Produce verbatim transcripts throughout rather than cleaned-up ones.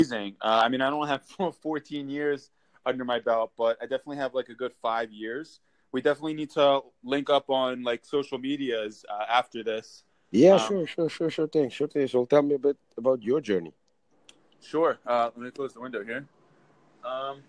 amazing. Uh, I mean, I don't have fourteen years under my belt, but I definitely have like a good five years. We definitely need to link up on like social medias uh, after this. Yeah, Um, sure, sure, sure, sure thing, sure thing. So tell me a bit about your journey. sure. Uh, let me close the window here. Um,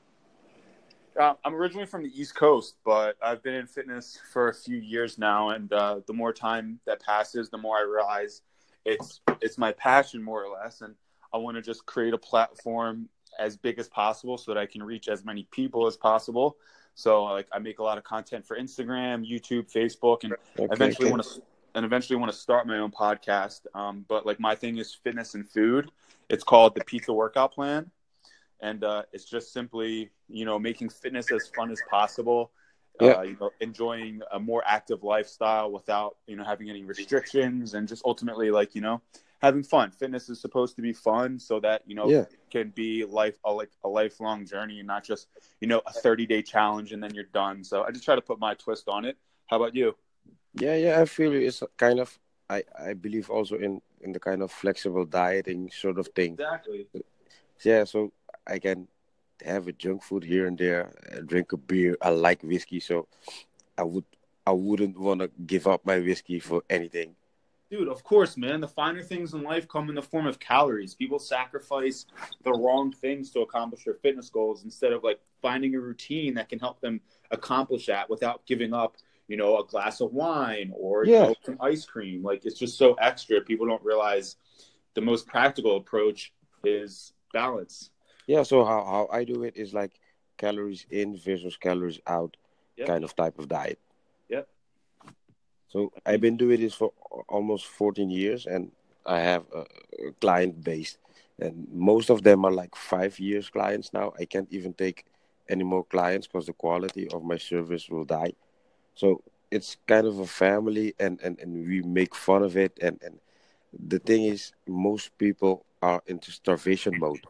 uh, I'm originally from the East Coast, but I've been in fitness for a few years now, and uh, the more time that passes, the more I realize it's it's my passion more or less, and I want to just create a platform as big as possible so that I can reach as many people as possible. So like I make a lot of content for Instagram, YouTube, Facebook, and Okay, eventually okay. want to and eventually want to start my own podcast. Um, but like my thing is fitness and food. It's called the Pizza Workout Plan, and uh, it's just simply you know making fitness as fun as possible. Yeah, Uh, you know, enjoying a more active lifestyle without you know having any restrictions, and just ultimately like you know having fun. Fitness is supposed to be fun, so that you know yeah, can be life a, like a lifelong journey, and not just you know a thirty day challenge and then you're done. So I just try to put my twist on it. How about you? yeah, yeah. I feel you. It's a kind of I I believe also in in the kind of flexible dieting sort of thing. Exactly. Yeah, so I can have a junk food here and there, uh, drink a beer. I like whiskey, so I would I wouldn't want to give up my whiskey for anything. Dude, of course, man. The finer things in life come in the form of calories. People sacrifice the wrong things to accomplish their fitness goals instead of like finding a routine that can help them accomplish that without giving up, you know, a glass of wine or, you Yeah, know, some ice cream. Like it's just so extra. People don't realize the most practical approach is balance. yeah. So how how I do it is like calories in versus calories out Yep. kind of type of diet. Yep. So I I've mean, been doing this for almost fourteen years, and I have a, a client base, and most of them are like five years clients now. I can't even take any more clients because the quality of my service will die. So it's kind of a family, and, and, and we make fun of it. And, and the thing is, most people are into starvation mode.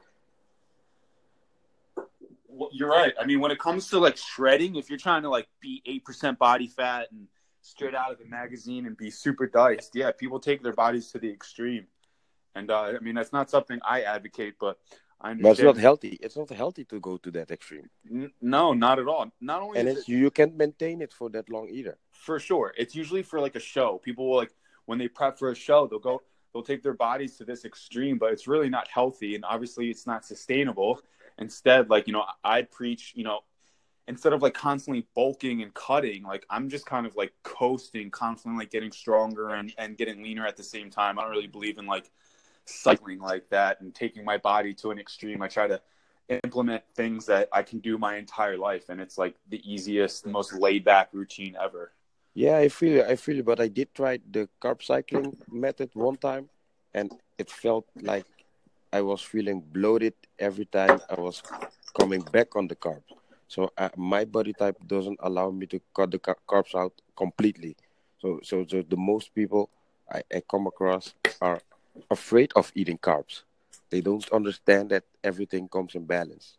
well, you're right. I mean, when it comes to like shredding, if you're trying to like be eight percent body fat and straight out of the magazine and be super diced, yeah, people take their bodies to the extreme. And uh, I mean, that's not something I advocate, but I But it's not understand. healthy. It's not healthy to go to that extreme. N- no, not at all. Not only And is it it's you can't maintain it for that long either. for sure, it's usually for like a show. People will like when they prep for a show, they'll go, they'll take their bodies to this extreme, but it's really not healthy, and obviously, it's not sustainable. Instead, like you know, I preach, you know, instead of like constantly bulking and cutting, like I'm just kind of like coasting, constantly like getting stronger and and getting leaner at the same time. I don't really believe in like cycling like that and taking my body to an extreme. I try to implement things that I can do my entire life, and it's like the easiest, most laid back routine ever. Yeah, I feel it. I feel it. But I did try the carb cycling method one time, and it felt like I was feeling bloated every time I was coming back on the carbs. So uh, my body type doesn't allow me to cut the ca- carbs out completely. So, so, so the most people I, I come across are afraid of eating carbs. They don't understand that everything comes in balance.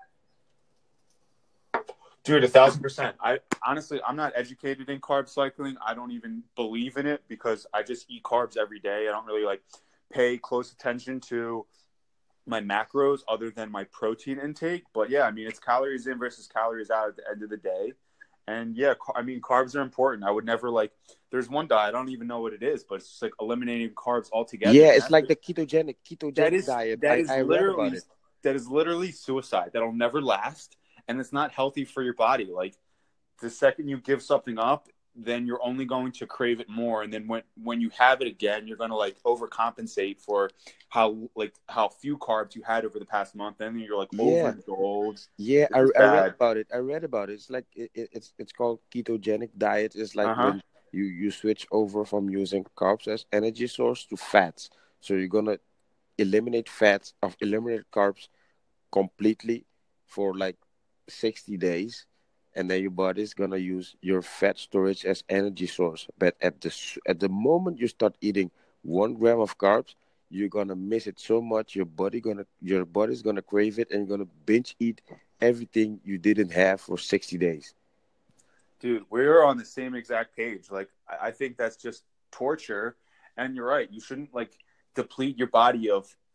Dude, a thousand percent. I honestly, I'm not educated in carb cycling. I don't even believe in it because I just eat carbs every day. I don't really like pay close attention to my macros other than my protein intake. But yeah, I mean, it's calories in versus calories out at the end of the day. And yeah, I mean, carbs are important. I would never like, there's one diet, I don't even know what it is, but it's just like eliminating carbs altogether. Yeah, And it's that's, like the ketogenic that ketogenic is, diet. that I, is I read about literally, it. that is literally suicide. That'll never last. And it's not healthy for your body. Like the second you give something up, then you're only going to crave it more, and then when when you have it again, you're going to like overcompensate for how like how few carbs you had over the past month, and then you're like Yeah, overindulged. yeah, It's I, just I read bad. about it. I read about it. It's like it, it- it's it's called ketogenic diet. It's like Uh-huh. when you you switch over from using carbs as energy source to fats. So you're gonna eliminate fats of eliminate carbs completely for like sixty days, and then your body's gonna use your fat storage as energy source. But at the s- at the moment you start eating one gram of carbs, you're gonna miss it so much. Your body gonna your body's gonna crave it, and you're gonna binge eat everything you didn't have for sixty days. Dude, we're on the same exact page. Like I I think that's just torture. And you're right. You shouldn't like deplete your body of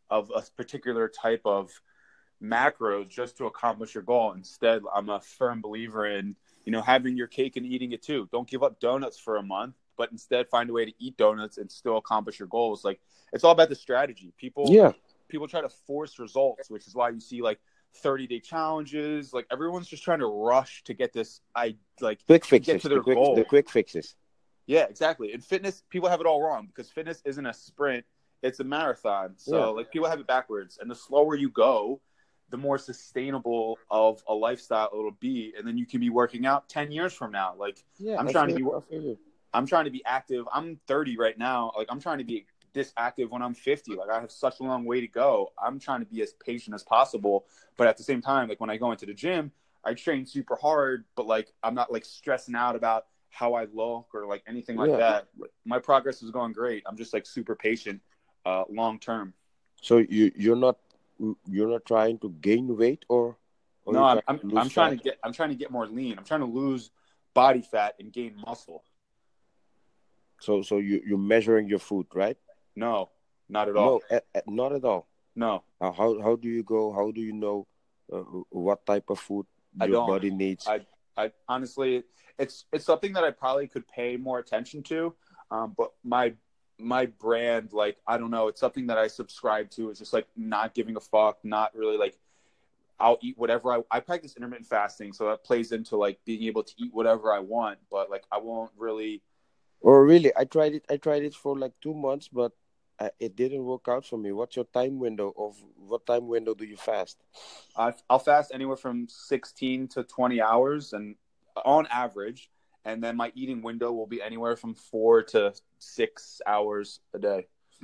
of a particular type of macros just to accomplish your goal. Instead, I'm a firm believer in, you know, having your cake and eating it too. Don't give up donuts for a month, but instead find a way to eat donuts and still accomplish your goals. Like, it's all about the strategy. People, Yeah. people try to force results, which is why you see like thirty day challenges. Like, everyone's just trying to rush to get this, I like Quick to get fixes. to The their quick, goal. the quick fixes. Yeah, exactly. In fitness, people have it all wrong because fitness isn't a sprint, it's a marathon. So Yeah. like people have it backwards. And the slower you go, the more sustainable of a lifestyle it'll be. And then you can be working out ten years from now. Like Yeah, I'm I trying to feel, be I feel you. I'm trying to be active. I'm thirty right now. Like I'm trying to be this active when I'm fifty. Like I have such a long way to go. I'm trying to be as patient as possible. But at the same time, like when I go into the gym, I train super hard, but like I'm not like stressing out about how I look or like anything like Yeah. that. My progress is going great. I'm just like super patient, uh, long term. So you you're not you're not trying to gain weight or or No, you're I'm trying I'm to lose I'm trying fat? to get I'm trying to get more lean. I'm trying to lose body fat and gain muscle. So so you you're measuring your food, right? No, not at all. No, a- a- not at all. No, Uh, how how do you go? How do you know uh, what type of food I your don't. body needs? I I honestly, it's it's something that I probably could pay more attention to. Um, but my my brand, like I don't know, it's something that I subscribe to. It's just like not giving a fuck, not really like I'll eat whatever I I practice intermittent fasting, so that plays into like being able to eat whatever I want. But like I won't really. Or really, I tried it. I tried it for like two months, but uh, it didn't work out for me. What's your time window of what time window do you fast? I, I'll fast anywhere from sixteen to twenty hours, and on average, and then my eating window will be anywhere from four to six hours a day.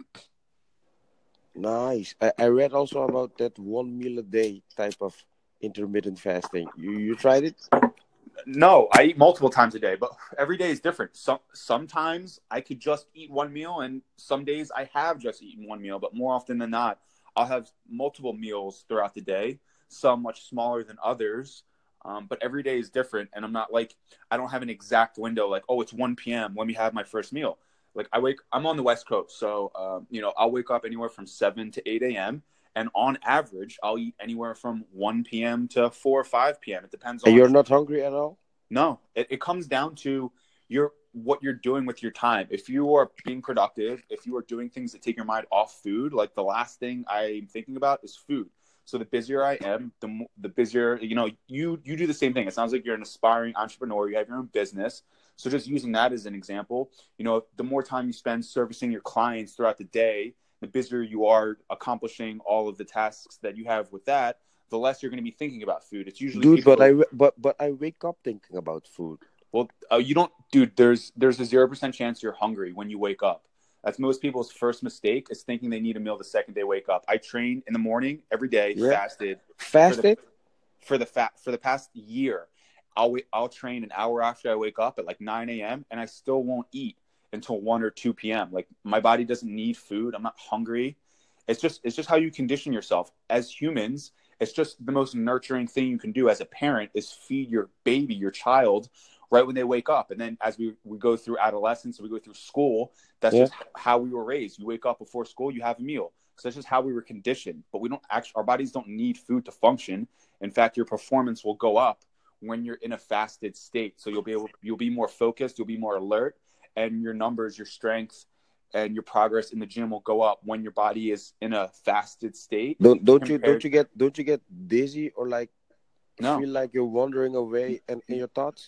Nice. I, I read also about that one meal a day type of intermittent fasting. You you tried it? No, I eat multiple times a day, but every day is different. Some sometimes I could just eat one meal, and some days I have just eaten one meal. But more often than not, I'll have multiple meals throughout the day. Some much smaller than others, um, but every day is different. And I'm not like I don't have an exact window. Like, oh, it's one p.m. Let me have my first meal. Like I wake, I'm on the West Coast, so um, you know I'll wake up anywhere from seven to eight a.m. And on average, I'll eat anywhere from one p.m. to four or five p.m. It depends And on. you're not hungry at all? No, it, it comes down to your what you're doing with your time. If you are being productive, if you are doing things that take your mind off food, like the last thing I'm thinking about is food. So the busier I am, the mo- the busier, you know, you you do the same thing. It sounds like you're an aspiring entrepreneur. You have your own business. So just using that as an example, you know, the more time you spend servicing your clients throughout the day, the busier you are accomplishing all of the tasks that you have with that, the less you're going to be thinking about food. It's usually Dude, people but who, I w- but but I wake up thinking about food. well, uh, you don't, dude. There's there's a zero percent chance you're hungry when you wake up. That's most people's first mistake is thinking they need a meal the second they wake up. I trained in the morning every day, Yeah. fasted for the Fasted? for the fat for the past year. I'll wait, I'll train an hour after I wake up at like nine a.m. and I still won't eat until one or two p.m. Like my body doesn't need food. I'm not hungry. It's just it's just how you condition yourself as humans. It's just the most nurturing thing you can do as a parent is feed your baby, your child, right when they wake up. And then as we, we go through adolescence, we go through school, that's Yeah. just how we were raised. You wake up before school, you have a meal. So that's just how we were conditioned. But we don't actually, our bodies don't need food to function. In fact, your performance will go up when you're in a fasted state. So you'll be able, you'll be more focused, you'll be more alert, and your numbers, your strength, and your progress in the gym will go up when your body is in a fasted state. Don't don't you compared- don't you get don't you get dizzy or like No. feel like you're wandering away and in your thoughts?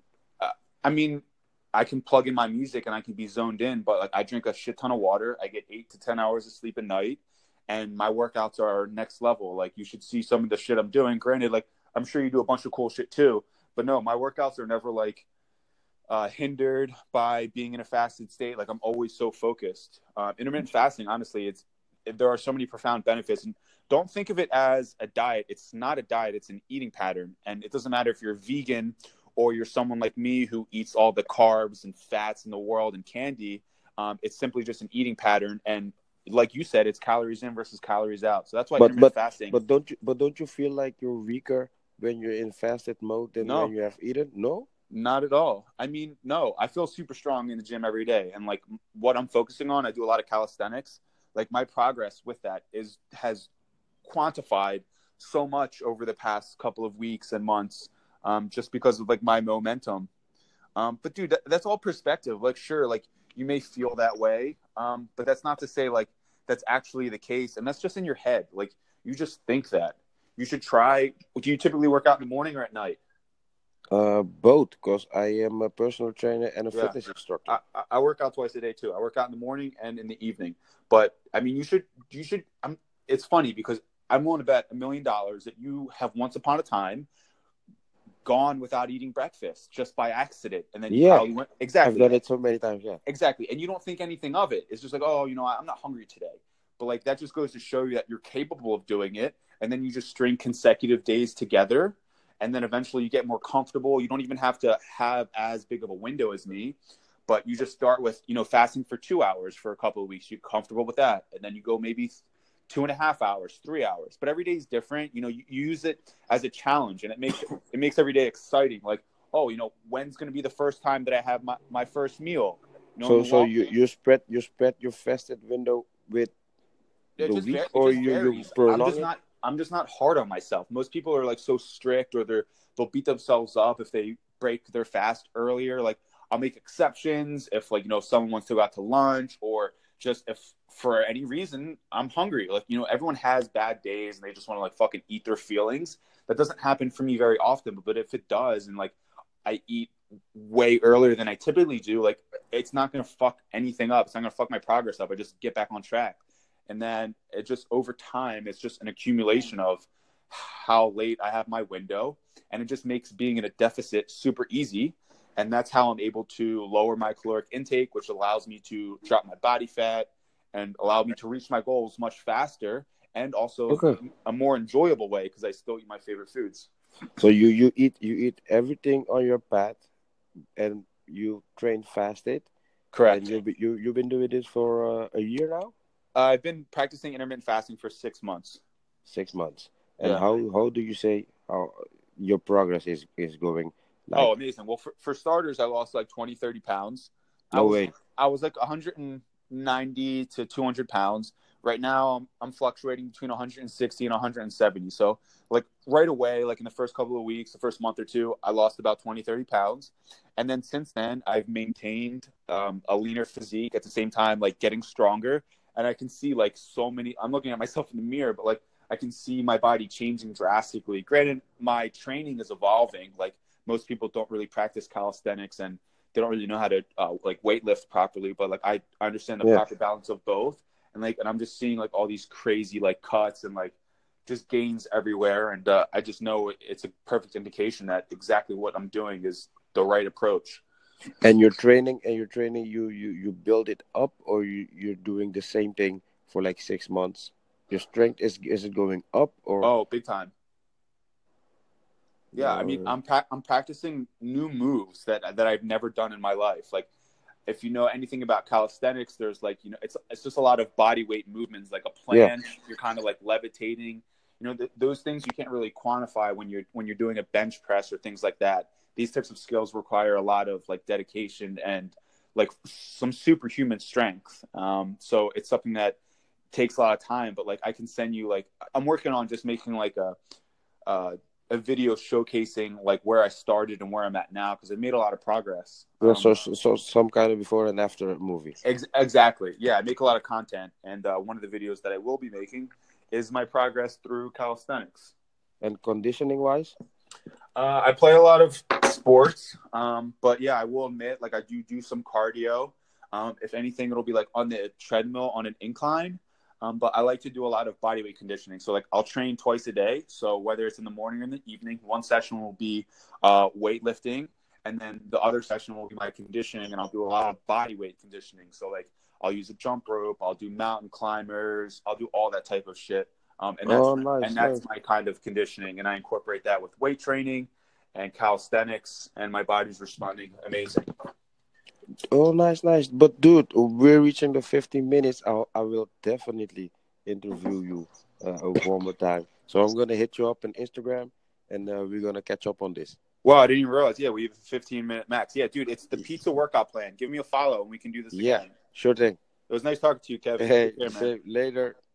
I mean, I can plug in my music and I can be zoned in, but like I drink a shit ton of water. I get eight to ten hours of sleep a night, and my workouts are next level. Like you should see some of the shit I'm doing. Granted, like I'm sure you do a bunch of cool shit too, but no, my workouts are never like uh, hindered by being in a fasted state. Like I'm always so focused. Uh, intermittent fasting, honestly, it's there are so many profound benefits. And don't think of it as a diet. It's not a diet. It's an eating pattern, and it doesn't matter if you're vegan or you're someone like me who eats all the carbs and fats in the world and candy. Um, it's simply just an eating pattern. And like you said, it's calories in versus calories out. So that's why But intermittent but fasting. but don't you but don't you feel like you're weaker when you're in fasted mode than No. when you have eaten? No? Not at all. I mean, no, I feel super strong in the gym every day. And like what I'm focusing on, I do a lot of calisthenics. like my progress with that is has quantified so much over the past couple of weeks and months, um, just because of like my momentum. Um, but dude, that, that's all perspective. Like, sure, like you may feel that way, um, but that's not to say like that's actually the case, and that's just in your head. Like you just think that. You should try. Do you typically work out in the morning or at night? Uh, both, because I am a personal trainer and a Yeah. fitness instructor. I, I I work out twice a day too. I work out in the morning and in the evening. But I mean, you should you should. I'm. It's funny because I'm willing to bet a million dollars that you have once upon a time gone without eating breakfast just by accident, and then you Yeah, probably went exactly. I've done it so many times. Yeah, Exactly, and you don't think anything of it. It's just like, oh, you know, I'm not hungry today. But like that just goes to show you that you're capable of doing it, and then you just string consecutive days together, and then eventually you get more comfortable. You don't even have to have as big of a window as me, but you just start with, you know, fasting for two hours for a couple of weeks. You're comfortable with that, and then you go maybe two and a half hours, three hours. But every day is different. You know, you, you use it as a challenge, and it makes it makes every day exciting. Like, oh, you know, when's going to be the first time that I have my, my first meal? You know, so in the so long- you you spread you spread your fasted window with it the just, week, var- it or just you you varies. I'm prolong just it? not I'm just not hard on myself. Most people are like so strict, or they're they'll beat themselves up if they break their fast earlier. Like I'll make exceptions if, like, you know, someone wants to go out to lunch, or just if for any reason I'm hungry. Like, you know, everyone has bad days and they just want to like fucking eat their feelings. That doesn't happen for me very often, but if it does, and like I eat way earlier than I typically do, like it's not going to fuck anything up. It's not going to fuck my progress up. I just get back on track. And then it just, over time, it's just an accumulation of how late I have my window, and it just makes being in a deficit super easy. And that's how I'm able to lower my caloric intake, which allows me to drop my body fat and allow me to reach my goals much faster, and also Okay. a more enjoyable way, because I still eat my favorite foods. So you you eat you eat everything on your path, and you train fasted. Correct. And you you you've been doing this for uh, a year now. Uh, I've been practicing intermittent fasting for six months. Six months. And Yeah. how how do you say how your progress is is going? Like, Oh, amazing. Well, for, for starters, I lost like twenty, thirty pounds. I no was, way. I was like one hundred ninety to two hundred pounds. Right now, I'm, I'm fluctuating between one hundred sixty and one hundred seventy. So, like, right away, like in the first couple of weeks, the first month or two, I lost about twenty, thirty pounds. And then since then, I've maintained um, a leaner physique at the same time, like getting stronger. And I can see like so many, I'm looking at myself in the mirror, but like I can see my body changing drastically. Granted, my training is evolving. Like, most people don't really practice calisthenics, and they don't really know how to uh, like weightlift properly. But like I, I understand the Yeah. proper balance of both, and like and I'm just seeing like all these crazy like cuts and like just gains everywhere, and uh, I just know it's a perfect indication that exactly what I'm doing is the right approach. And your training and your training, you you you build it up, or you you're doing the same thing for like six months. Your strength is is it going up, or? Oh, big time. Yeah, I mean, Uh, I'm pra- I'm practicing new moves that that I've never done in my life. Like, if you know anything about calisthenics, there's like, you know, it's it's just a lot of body weight movements, like a planche. Yeah. You're kind of like levitating. You know, th- those things you can't really quantify when you're when you're doing a bench press or things like that. These types of skills require a lot of like dedication and like some superhuman strength. Um, so it's something that takes a lot of time. But like, I can send you like I'm working on just making like a. Uh, a video showcasing like where I started and where I'm at now, because I made a lot of progress. Yeah, Um, so so some kind of before and after movie. ex- exactly. Yeah, I make a lot of content, and uh, one of the videos that I will be making is my progress through calisthenics. And conditioning wise? Uh, I play a lot of sports, um, but yeah, I will admit, like I do do some cardio. Um, if anything, it'll be like on the treadmill on an incline. Um, but I like to do a lot of body weight conditioning. So like I'll train twice a day. So whether it's in the morning or in the evening, one session will be uh, weightlifting, and then the other session will be my conditioning, and I'll do a lot of body weight conditioning. So like I'll use a jump rope, I'll do mountain climbers, I'll do all that type of shit. Um, and that's Oh, nice, and that's nice. my kind of conditioning, and I incorporate that with weight training and calisthenics, and my body's responding amazing. Oh, nice, nice. But dude, we're reaching the fifteen minutes. I I will definitely interview you uh, one more time. So I'm gonna hit you up on Instagram, and uh, we're gonna catch up on this. Wow, I didn't even realize. Yeah, we have a fifteen minute max. Yeah, dude, it's the pizza workout plan. Give me a follow, and we can do this Yeah, again. sure thing. It was nice talking to you, Kevin. Hey, Take care, man. say later.